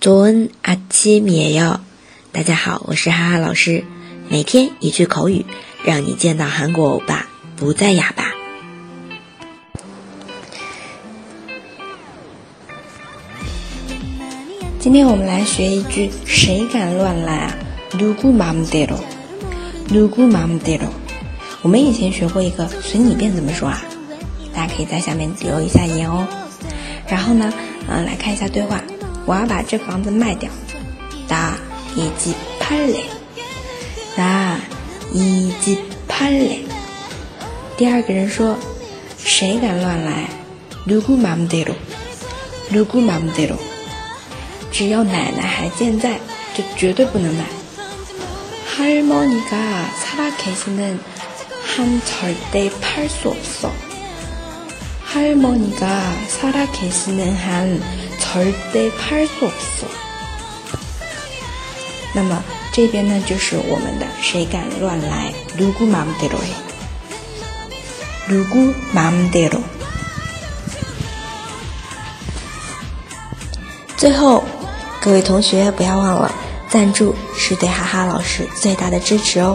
좋은 아침이에요。大家好，我是哈哈老师，每天一句口语，让你见到韩国欧巴不再哑巴。今天我们来学一句谁敢乱来啊？누구 맘대로，누구 맘대로。我们以前学过一个随你便怎么说啊？大家可以在下面留一下言哦。然后呢，来看一下对话。我要把这房子卖掉。나 이 집 팔래。나 이 집 팔래。第二个人说，谁敢乱来？누구 맘대로，누구 맘대로。只要奶奶还健在，就绝对不能买。할머니가 살아계시는 한 절대 팔 수 없어。할머니가 살아계시는 한 절대 팔 수 없어。那么这边呢，就是我们的谁敢乱来 누구 맘대로 해。 누구 맘대로。 最後各位同学不要忘了，赞助是对哈哈老师最大的支持哦。